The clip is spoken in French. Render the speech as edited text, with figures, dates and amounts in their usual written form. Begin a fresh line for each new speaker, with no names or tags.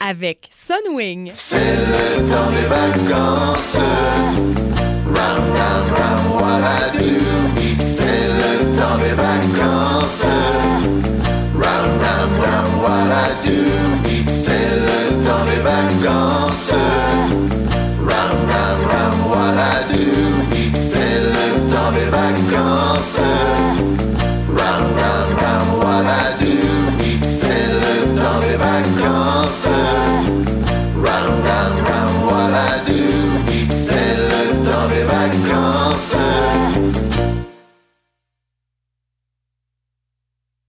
avec Sunwing.
C'est le temps des vacances. Round, round, round, what I do. C'est le temps des vacances.